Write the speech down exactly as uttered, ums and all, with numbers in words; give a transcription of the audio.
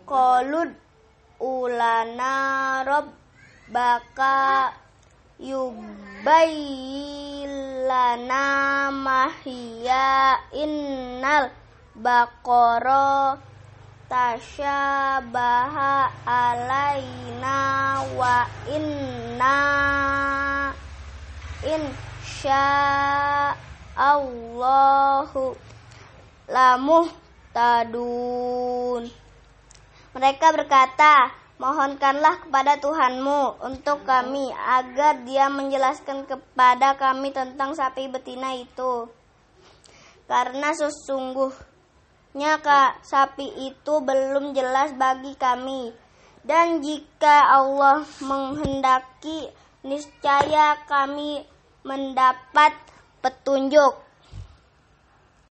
qalud ulana rabbaka yubayyilana mahiya innal baqara tasyabaha alaina wa inna insya Allahu lamuhtadun. Mereka berkata, mohonkanlah kepada Tuhanmu untuk kami agar Dia menjelaskan kepada kami tentang sapi betina itu, karena sesungguhnya Kak, sapi itu belum jelas bagi kami. Dan jika Allah menghendaki, niscaya kami mendapat petunjuk.